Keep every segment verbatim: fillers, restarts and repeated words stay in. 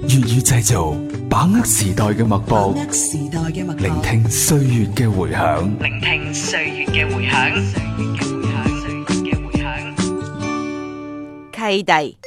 粵語製造，把握時代嘅脈搏， 時代嘅脈搏， 聆聽歲月嘅回響。 聆聽歲月嘅回響。歲月嘅回響，歲月嘅回響。契弟。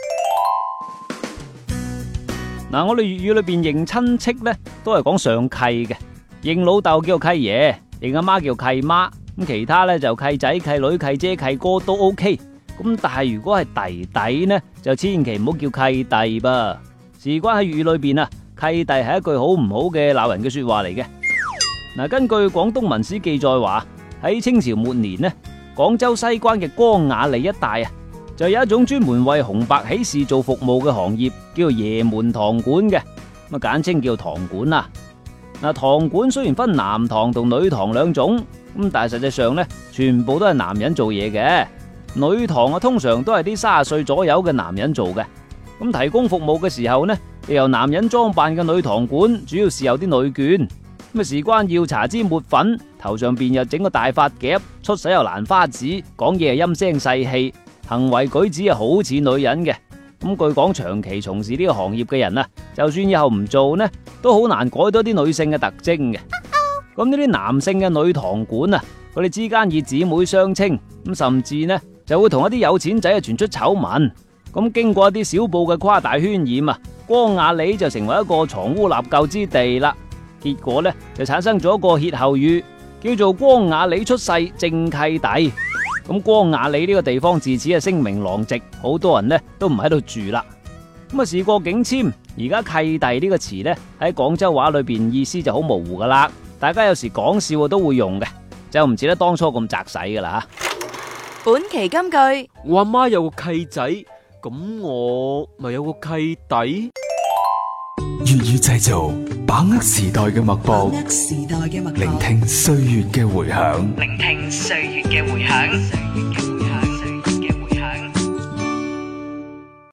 嗱，我哋粵語裏邊認親戚咧，都係講上契嘅。認老豆叫做契爺，認阿媽叫契媽，咁其他咧就契仔、契女、契姐、契哥都 OK。咁但係如果係弟弟呢，就千祈唔好叫契弟噃。事關喺粵語裏邊啊，契弟係一句好唔好嘅鬧人嘅說話嚟嘅。嗱，根據廣東文史記載話，喺清朝末年呢，廣州西關嘅江雅里一帶啊，就有一種專門為紅白喜事做服務嘅行業，叫做爺門堂館嘅，咁啊簡稱叫堂館啦。嗱，堂館雖然分男堂同女堂兩種，咁但係實際上呢，全部都係男人做嘢嘅。女堂啊，通常都係啲三十歲左右嘅男人做嘅。咁提供服務嘅時候呢，由男人裝扮嘅女堂館，主要係有啲女眷。咁啊，事關要搽支抹粉，頭上邊又整個大髮夾，出手又蘭花指，講嘢係陰聲細氣，行為舉止係好似女人嘅。咁據講，長期從事呢個行業嘅人啊，就算以後唔做呢，都好難改到啲女性嘅特徵嘅。咁呢啲男性嘅女堂館啊，佢哋之間以姊妹相稱，咁甚至呢就會同一啲有錢仔啊傳出醜聞。咁經過一啲小報嘅誇大渲染啊，江雅里就成為一個藏污納垢之地啦。結果呢就產生咗一個歇後語，叫做江雅里出世正契弟。咁江雅里呢個地方自此係聲名狼藉，好多人呢都唔喺度住啦。咁啊，事過境遷，而家契弟呢個詞呢喺廣州話裏邊意思就好模糊噶啦。大家有時講笑都會用嘅，就唔似得當初咁窄使噶啦。 本期金句： 我阿媽有個契仔，咁我咪有個契弟。 粵語製造，把握時代嘅脈搏， 時代嘅脈搏， 聆聽歲月嘅回響。 聆聽歲月嘅回響。